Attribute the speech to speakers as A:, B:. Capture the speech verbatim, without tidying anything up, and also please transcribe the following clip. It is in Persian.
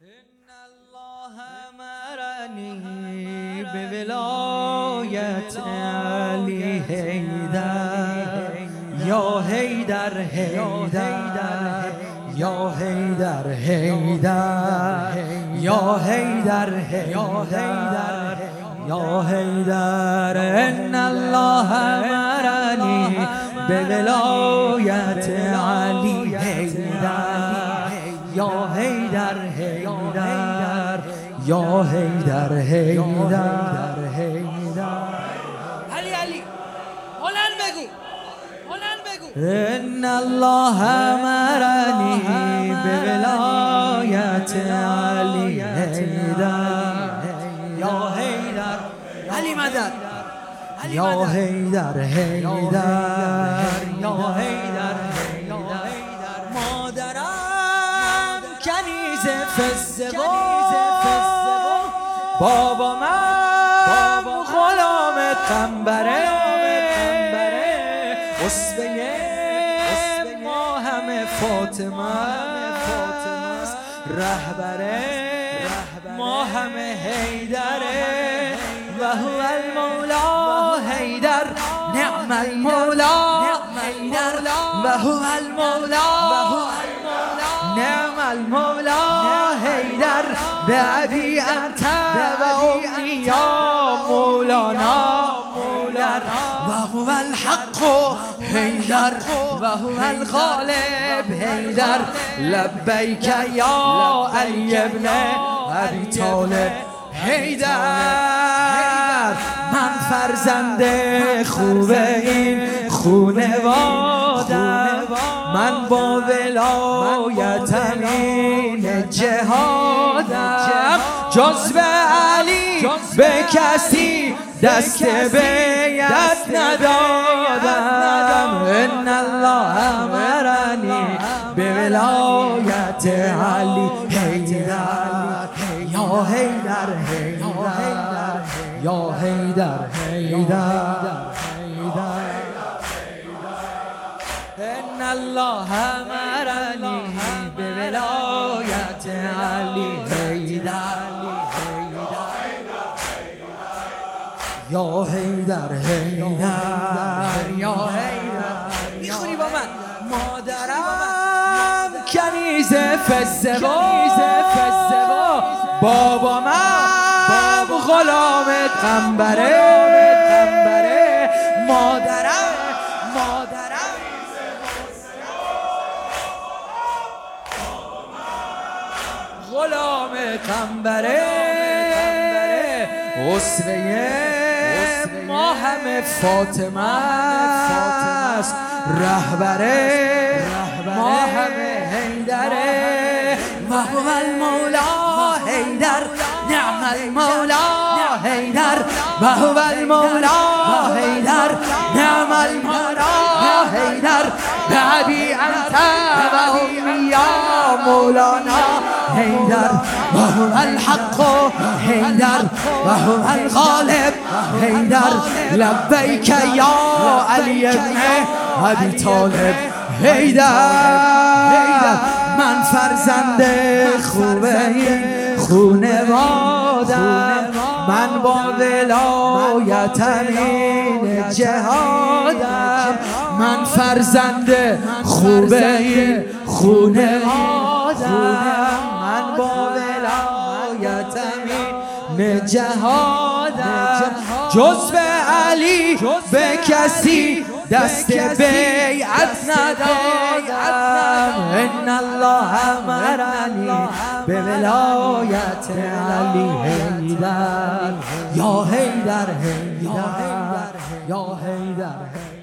A: إن الله أمرني بولاية علي حيدر يا حيدر حيدر يا حيدر حيدر يا حيدر حيدر يا حيدر إن الله أمرني بولاية علي حيدر يا حيدر حيدر يا حيدر حيدر حيدر
B: علی علی بلند بگو بلند بگو
A: إن الله أمرني بولاية علي حيدر يا حيدر
B: علی مدد
A: يا حيدر حيدر يا حيدر مادرم کنیز فزه بابا من غلام قنبره اسوه ما همه فاطمه است رهبره ما همه حیدره و هو المولا حیدر نعم المولا حیدر و هو المولا نعم المولا حیدر بأبي أنت وأمي يا مولانا وهو الحق حيدر وهو الغالب حيدر لبيك يا علي ابن أبي طالب حیدر من فرزند خوب این خونوادم من با ولایتم این جهادم جز به علی به کسی دست بیعت ندادم ان الله امرنی به ولایت علی حیدر یا حیدر حیدر یا حیدر حیدر ان الله امرنی به ولایت علی حیدر یا حیدر حیدر یا حیدر
B: میخونی با من
A: مادرم کنیز فزه بابا من غلام قنبره مادرم مادرم غلام قنبره اسوه ما همه فاطمه است رهبره ما همه حیدره و هو المولا حیدر نعم المولا حیدر و هو المولا حیدر نعم المولا حیدر بأبي أنت وأمي يا مولانا حيدر وهو الحق حيدر وهو الغالب حيدر لبيك يا علي ابن أبي طالب حيدر من فرزند خوب این خونوادم من با ولایتم این جهادم من فرزند خوب این خونوادم من با ولایتم این جهادم جز به علی به کسی دست بیعت ندادم ان الله امرنی به ولایت علی حیدر یا حیدر حیدر یا حیدر